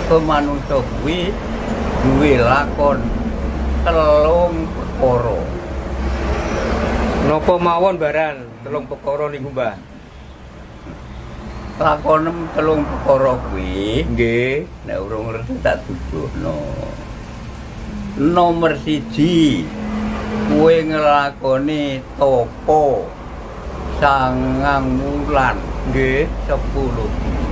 mergo manungsa kuwi duwe lakon telung perkara. Napa mawon baran telung perkara niku, Mbah? Lakonem telung perkara kuwi Nggih. nek urung ngerti tak tuduhno. Nomor 1 kowe nglakoni tapa 9 wulan Nggih. 10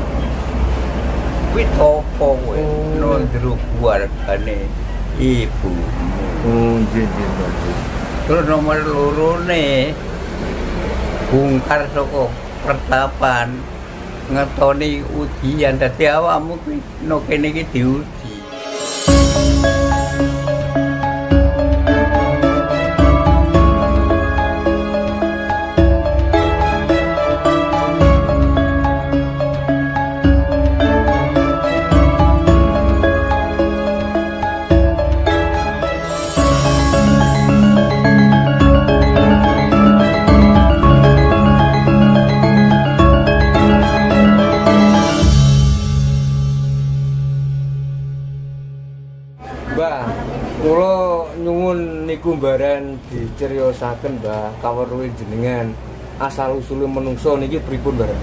kuwi tapa kowe ndro keluargane ibu. Oh, nggih nggih, Mbah. Terus nomor 2 bungkar saka pertapan ngetoni ujian dadi awakmu kuwi no kene iki diuji. Mbah, kula nyuwun niku mbaran diceriyosaken, Mbah, kaweruhe jenengan asal usule menungso niki pripun, Mbah?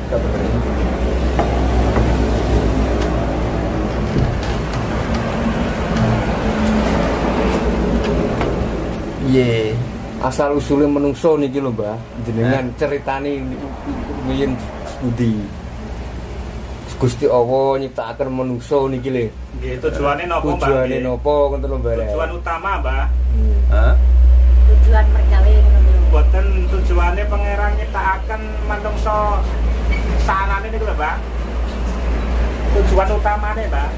Iya, Asal usule menungso niki lho, Mbah. Jenengan ceritani wiyen studi. Gusti Allah nyiptakaken menungso niki lho. Nggih, tujuane napa, Mbak? Tujuane napa ngoten lho, Mbah? Tujuan utama, Mbak. hah? Tujuan mergawe ngono lho. Boten tujuane pangeran nyiptakaken manungsa sanane niku lho, Mbak. Tujuan utamane, Mbak.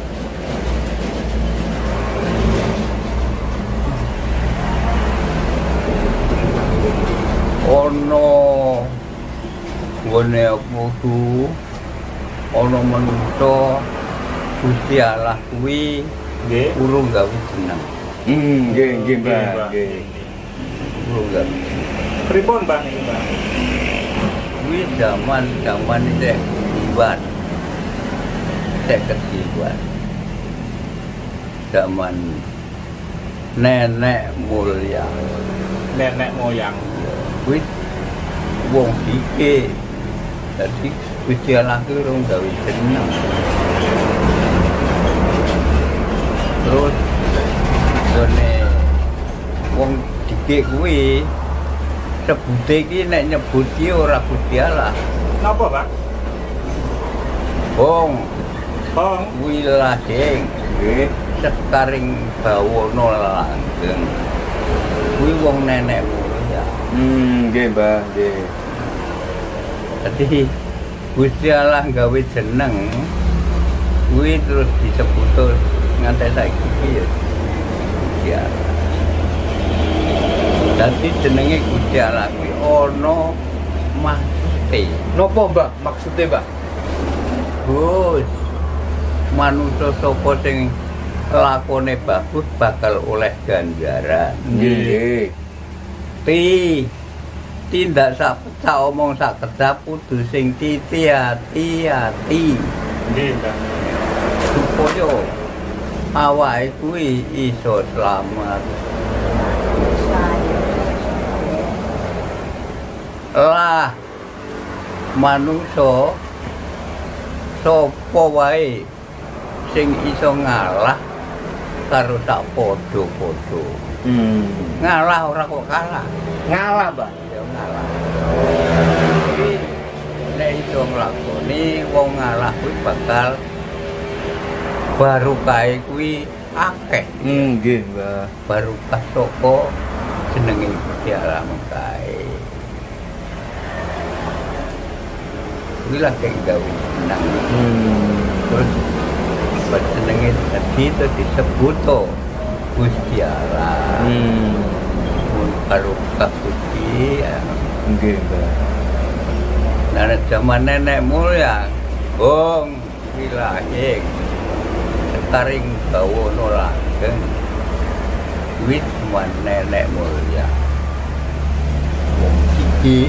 Ono nggone wudu ono manungsa Gusti Allah kuwi Nggih. urung gawe jeneng. Nggih, nggih, Mbah. Mbak. Nggih. Urung gawe. Pripun, Mbak, niki, Mbak? Kuwi zaman iki buat ketiban. Zaman nenek mulia. Nenek moyang. Kuwi wong iki dadi Gusti Allah kuwi urung gawe jeneng. Terus jane wong dikek kuwi sebute iki nek nyebut iki ora Gusti Allah. Napa, Pak? Wong Bong. wilading nggih sekaring bawana langgeng. Kuwi wong nenek mulia. Nggih, Mbah, nggih. Dadi Gusti Allah gawe jeneng kuwi terus disebut nganti saiki iki ya Gusti Allah. Dadi jenenge Gusti Allah kuwi ana maksude. Napa, Mbah, maksude, Mbah? Gus, manungsa sapa sing lakone bagus bakal oleh ganjaran. Nggih. Tindak sak omong sak kedap kudu sing hati-hati. Nggih, Mbak. Supaya awake kuwi iso selamat. Lah manungsa sapa wae sing iso ngalah karo sak padha-padha. Ngalah ora kok kalah. Ngalah, Mbah. Ya ngalah. Iki nek iso nglakoni wong ngalah kuwi bakal barukahe kuwi akeh. Nggih, Mbah. Barukah saka jenenge Gusti Allah kae. Kuwi lak gawe nang. Terus jenenge dadi itu disebut Gusti Allah. Mun barukah Gusti Nggih, Mbah. Nah, zaman nenek mulia, wong wilayah sekaring bawana langgeng, kuwi cuma nenek mulia. Wong iki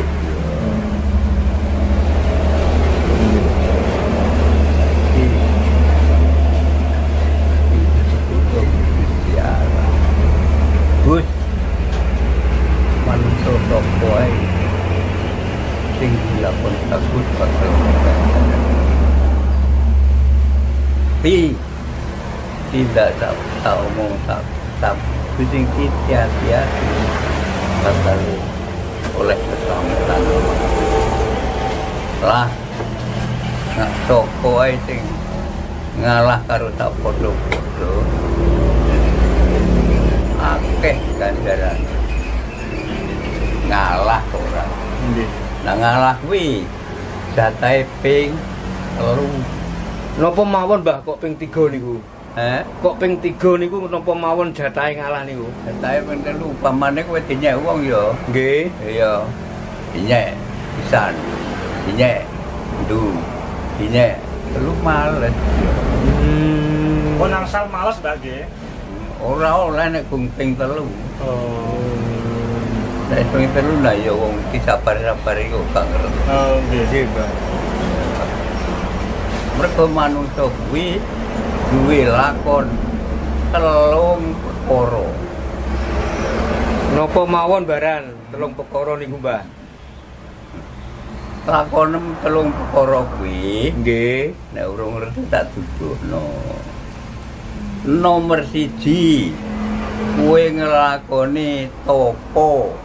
Tapi tidak tak omong tak pusing hati-hati bakal oleh keselamatan lah nak toko ae sing ngalah karo tak podo-podo akeh ganjaran ngalah ora Nggih. nah ngalah kuwi jatahe ping 3 Napa mawon Mbah kok ping 3 niku? kok Ping 3 niku napa mawon jatahe ngalah niku? jatahe ping 3 upamane kowe dinyek wong ya Nggih. iya dinyek pisan dinyek ndu dinyek telu males Kok nangsal males Mbak nggih? ora oleh nek ping 3 Oh. nek ping 3 lah ya wong disabar-sabar iku gak ngerti Oh, nggih. Nggih, Mbah. mergo manungsa kuwi duwe lakon 3 perkara Napa mawon baran 3 perkara niku, Mbah? lakon 3 perkara kuwi Nggih. nek urung ngerti tak duduhno nomor 1 kowe nglakoni topo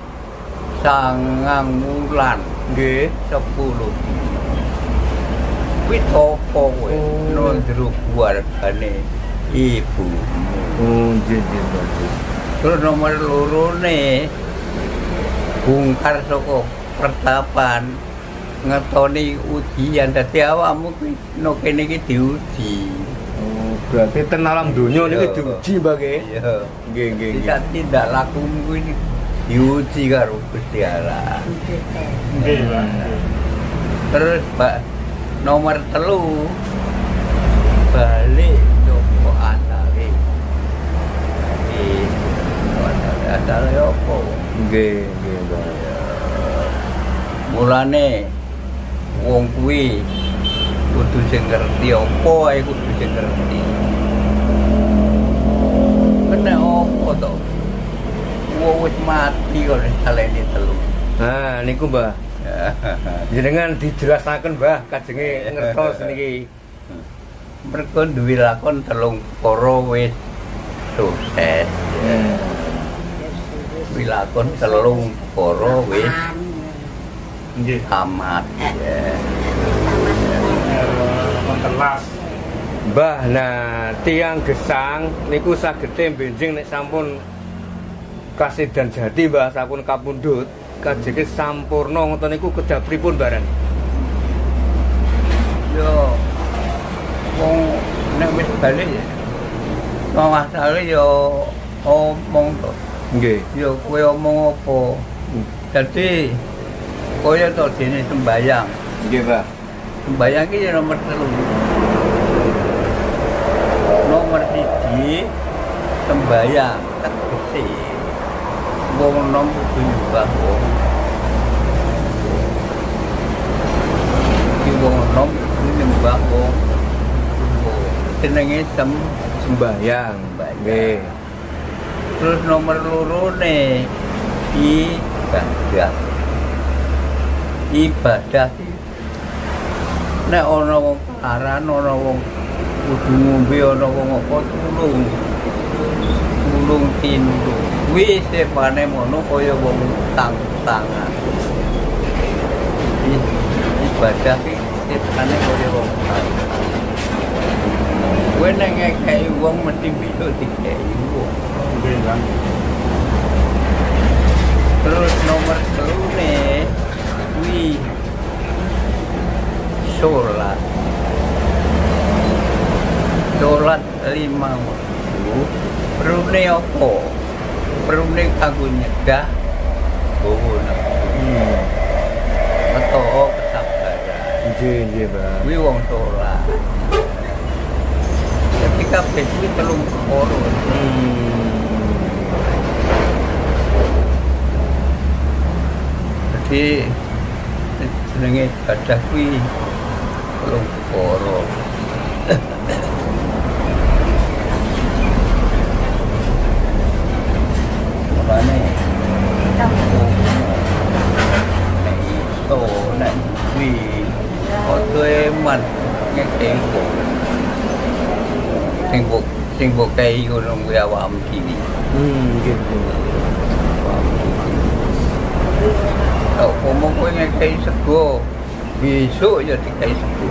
9 wulan Nggih. 10 kuwi topo kowe Oh. ndro keluargane ibu Oh, nggih, Mbah. terus nomor 2 bungkar saka pertapan ngetoni ujian dadi awakmu kuwi no kene iki diuji Oh, berarti ten alam donya niki Iya. diuji, Mbah nggih. iya Nggih, nggih. bisa tindak lakumu kuwi diuji karo Gusti Allah Nggih, Mbak. terus Mbak nomor 3 balik joko asale asale opo Nggih, nggih, Mbah. mulane wong kuwi kudu sing ngerti apa ae kudu sing ngerti kena apa to wong wis mati kok salene 3 Nah, niku, Mbah. Jenengan dijelasaken, Mbah, kajenge ngertos niki. mereka duwe lakon 3 perkara wis sukses duwe lakon 3 perkara wis Nggih. tamat ya. Mentelas. Mbah, nah tiang gesang niku sagete benjing nek sampun kasidan jati, Mbah, sampun kapundhut, kajenge sampurna ngoten niku kedah pripun bareng? Yo wong nek wis balik ya masalah yo omong to Nggih. yo kowe omong apa dadi kaya to dene sembayang Nggih, Mbah. sembayang iki ya nomor 3 nomor 1 sembayang tegese wong nom kudu nyembah wong iki wong nom kudu nyembah wong jenenge Sembayang. Nggih. terus nomor 2 ibadah ibadah iki nek ana wong paran ana wong kudu ngombe ana wong apa tulung tindung kuwi sepane mono kaya wong tangan ibadah iki sepane kaya wong tangan kowe nek ngekeki wong mesti bisa dikeki wong Nggih, Mbak. terus nomor 3 kuwi sholat 5 waktu perune apa perune kanggo nyegah bawa meto kesabaran Nggih, nggih, Mbah. kuwi wong sholat ketika kuwi 3 perkara jadi jenenge ibadah kuwi 3 perkara makane nek iso nek kuwi ojo eman ngekengko sing mbok kei ngono kuwi awakmu dhewe. Nggih. Kok ngomong kowe ngekei sego, besok ya dikei sego.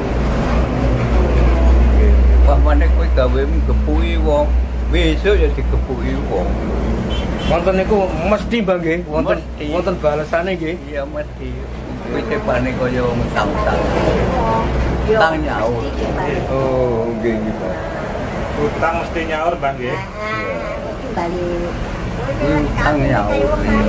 Pamane kowe gawe gepuki wong, besok ya digepuki wong. Wonten niku mesti Mbah nggih, Mesti. wonten balesane nggih. Iya mesti. Kowe tepane kaya wong tang-tang. Tang nyaur. Oh, nggih nggih Pak. Utang mesti nyaur Bang nggih. Balik. Tang nyaur.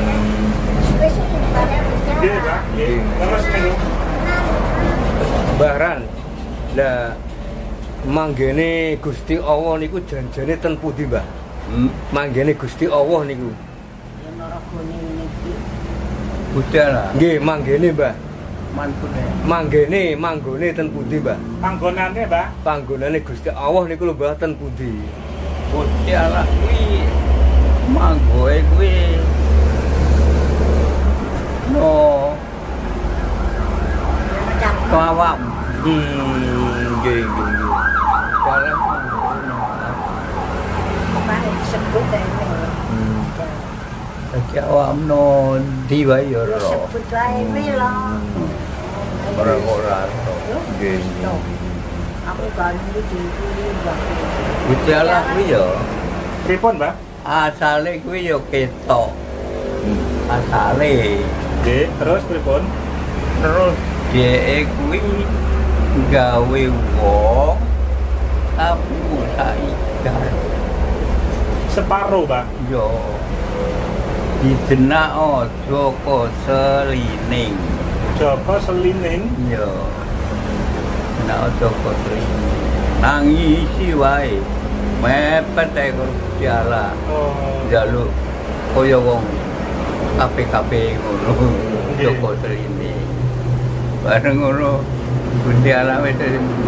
Nggih Bang, nggih. Terus niku Mbah Ran. Lah manggene Gusti Allah niku janjane ten pundi, Mbah? Manggene Gusti Allah niku. Ya Naragone niki. Budal. Nggih, manggene, Mbah. Mantune. Manggone ten pundi, Mbah? panggonane Mbak. Panggonane Gusti Allah niku lho, Mbah, ten pundi? Budal kuwi manggoe kuwi no awak. Nggih, nggih. Dalam Bang sebut ae. Dadi awak no di wae ya ora. Sebut wae melo. Ora. Nggih, nggih. Aku kan iki Bang. Budal kuwi ya Pripun Mbak? asale kuwi ya ketok. Asale Nggih, terus pripun? terus dhek kuwi gawe wong tapi saikan Separo Mbak. yo dijenak Joko Selining Joko Selining. yo nek Joko Selining nangisi wae mepet ae karo piala Oh. njaluk kaya wong kabeh-kabeh ngono Nggih. Joko Selining bareng ngono Gusti Allah wis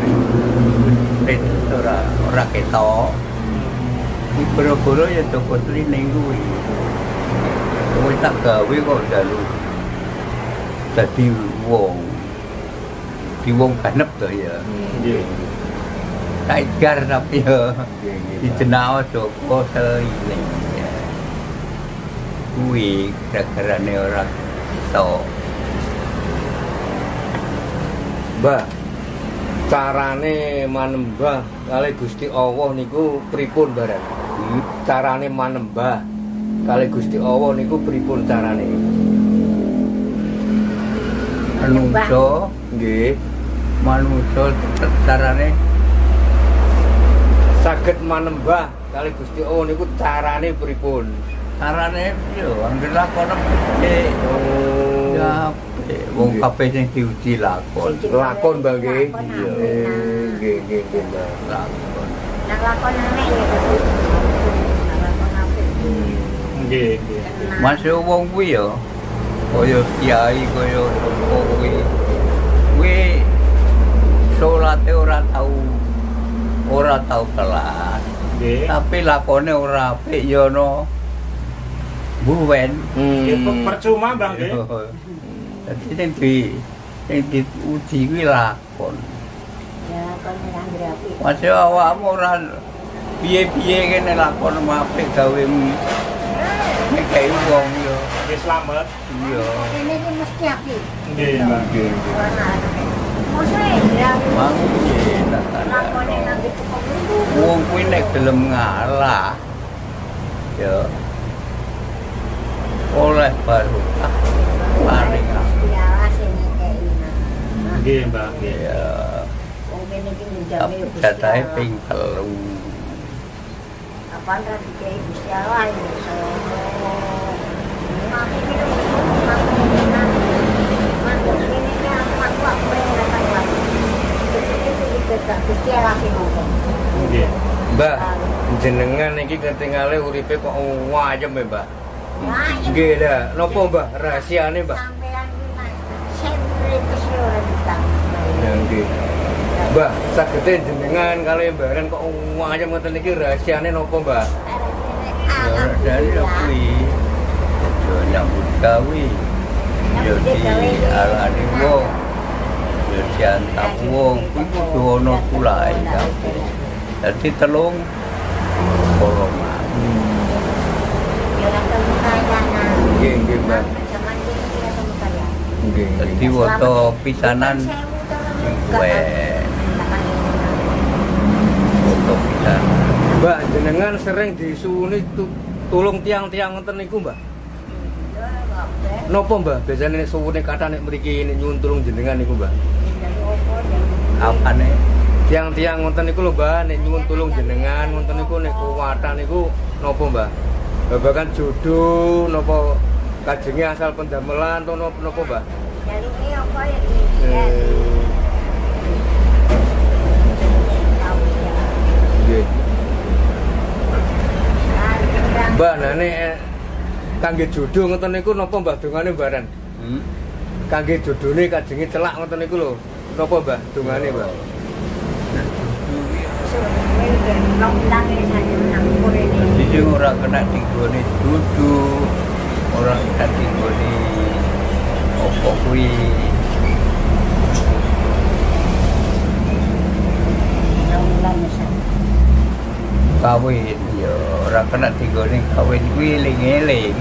ora ketok. Di Boro-Boro ya Joko Selining kuwi. Kowe tak gawe kok dalu. Dadi wong. Di wong ganep to ya. Nggih. Tiger tapi ya dijenak Joko Selining. Ya. Kuwi gara-garane ora ketok. Mbah, carane manembah kali Gusti Allah niku pripun, Baran? Carane manembah kali Gusti Allah niku pripun carane? Manungsa Nggih, manungsa carane saged manembah kali Gusti Allah niku carane pripun? carane yo anggere lakon apik. Ya apik. Wong kabeh sing diuji lakon. Lakon, Mbah nggih. Iya. Nggih, nggih, nggih, Mbah. Lakon. Nang lakon nek ya Bang. Nang lakon apik. Nggih, nggih. Masih wong kuwi ya kaya kiai kaya apa kuwi. Kuwi salate ora tau kelas. Nggih. Tapi lakone ora apik ya no. Buwen. Nggih, percuma Bang nggih. Dadi sing diuji kuwi lakon. Ya lakon nang apik. Masih awakmu ora piye-piye kene lakon apik gawe ngekei wong yo. Nggih, slamet. Iya. Ini ki mesti apik. Nggih, Bang. Nggih, nggih. Mosok ya. Mangke Lakone nang tukang itu. wong kuwi nek gelem ngalah ya oleh barokah paling Ya sing ngekeki. Nggih, Mbak. Nggih. ya Wong kene iki njame Gusti jatahe Allah. ping 3 Apaan ra dikei Gusti Allah ya iso. Mati iki Gusti Allah sing ngomong. Nggih. Mbah, jenengan iki ketingale uripe kok wayem ya, Mbah? Nah, Nggih dah. Napa, Mbah? Rahasiane, Mbah? sampean iki sempre kesih ora ditang. Ya, nggih. Mbah, sagete jenengan kali Baran kok wayem ngoten iki rahasiane napa, Mbah? ya dari kuwi yo nyambut gawe yo di alane wong yo diantap wong kuwi kudu ana tulae kabeh Dadi telung golongan. Ya orang temu kaya nah. Nggih, nggih, Mbak. Zaman ini ya temu kaya. Nggih. Dadi woto pisanan kuwe. Woto pisanan. Mbak, jenengan sering disuwuni tulung tiang-tiang ngoten niku, Mbak? Napa, Mbak? Biasane nek suwune kathah nek mriki nek nyuwun tulung jenengan niku, Mbak. Apane? Tiang-tiang ngoten niku lho, Mbak, nek nyuwun tulung jenengan ngoten niku nek kuwatan niku napa, Mbak? Babagan jodoh napa kajenge asal pendamelan to napa, Mbak? Jalune apa ya iki? Nggih. Mbak, nah nek kangge jodoh ngoten niku napa, Mbah, dongane Mbaran? Kangge jodone kajenge celak ngoten niku lho. Napa, Mbah, dongane, Mbah? Jadi sing ora kena tinggone dudu, ora kena tinggone apa kuwi. Kawin ya ora kena tinggone kawin kuwi eling-eling.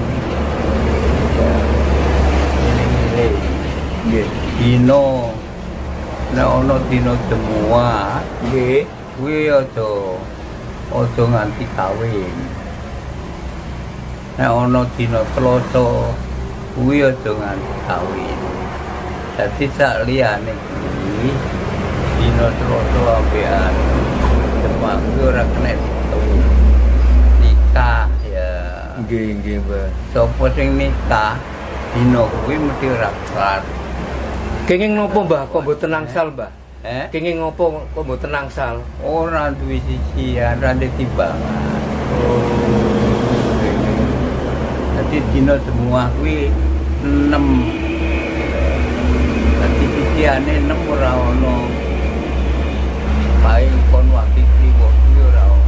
Eling-eling. Nggih, dino nek ana dina semua, nggih, kuwi aja nganti kawin. Nek ana dina Selasa kuwi aja nganti kawin. Dadi sak liyane kuwi dina Selasa ambekan semua kuwi ora kena nikah ya. Nggih, Mbah. Sopo sing nikah dina kuwi mesti ora kelar. Kenging nopo, Mbah, kok mboten nangsal, Mbah? Kenging ngopo kok mboten nangsal? Ora duwe sisian, ora ndek timbangan. Dadi dina semua kuwi 6. Dadi sisiane 6 ora ono. Paling kon waktu kliwo kuwi ora ono.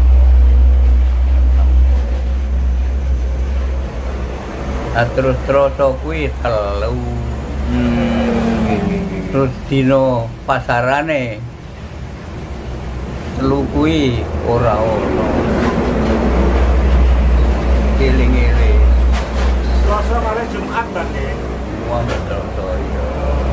Terus kuwi 3. Terus dino pasarane 3 kuwi ora ono. Eling-eling. Selasa kali Jumat Bang nggih. Wong Selasa ya.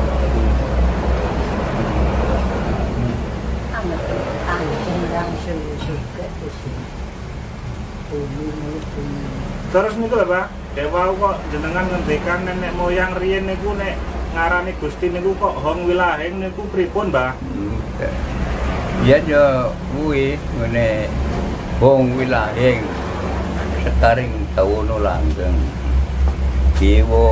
Terus niku lho, Pak. Dewa kok jenengan ngendikan nenek moyang riyen niku nek ngarani Gusti niku kok Hong Wilaheng niku pripun, Mbah? Ya yo kuwi ngene Hong Wilaheng sekaring tawono langgeng. Dewa.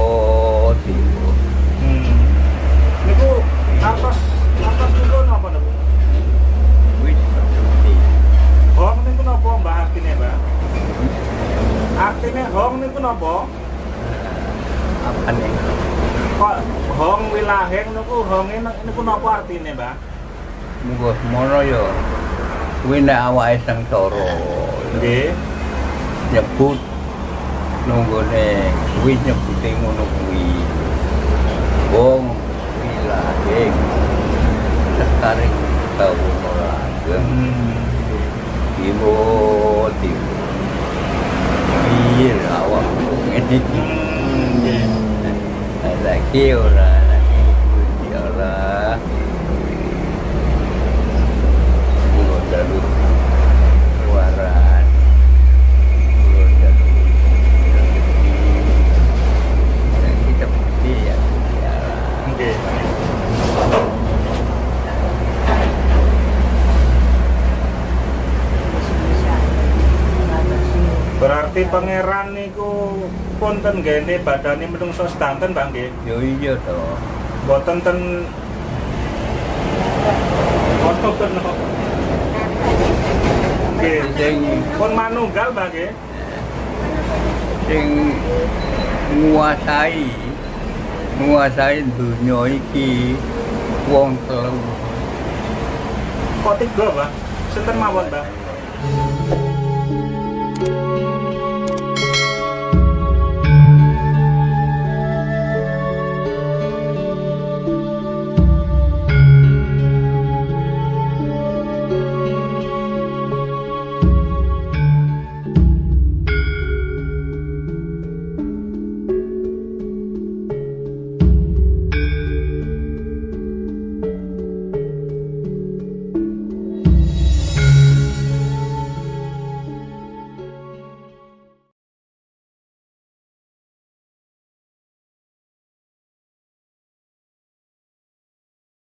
Niku atas niku napa niku? Wis seperti Hong niku napa, Mbah, artine, Mbah? Artine Hong niku napa? apa nih? Kok Hong Wilaheng niku honge niku napa artine, Mbah? Muga semono yo. Kuwi nek awake sengsara. Nggih. Nyebut nunggone kuwi nyebute ngono kuwi. Wong Wilaheng sekaring tawono langgeng. Ibu tibu. Iya awak ngene iki. Lagi ora lagi Gusti Allah. Kulo jalur keluaran. Kulo jalur rezeki. Dan kita pasti ya. Nggih. Berarti pangeran niku punten gene badane menungso sedanten, Bang nggih. Yo iya to. Boten ten foto ten. Nggih. Sing Pun manunggal, Bang nggih. sing nguasai dunia iki wong telu. Kok 3, Bang? Sinten mawon, Bang?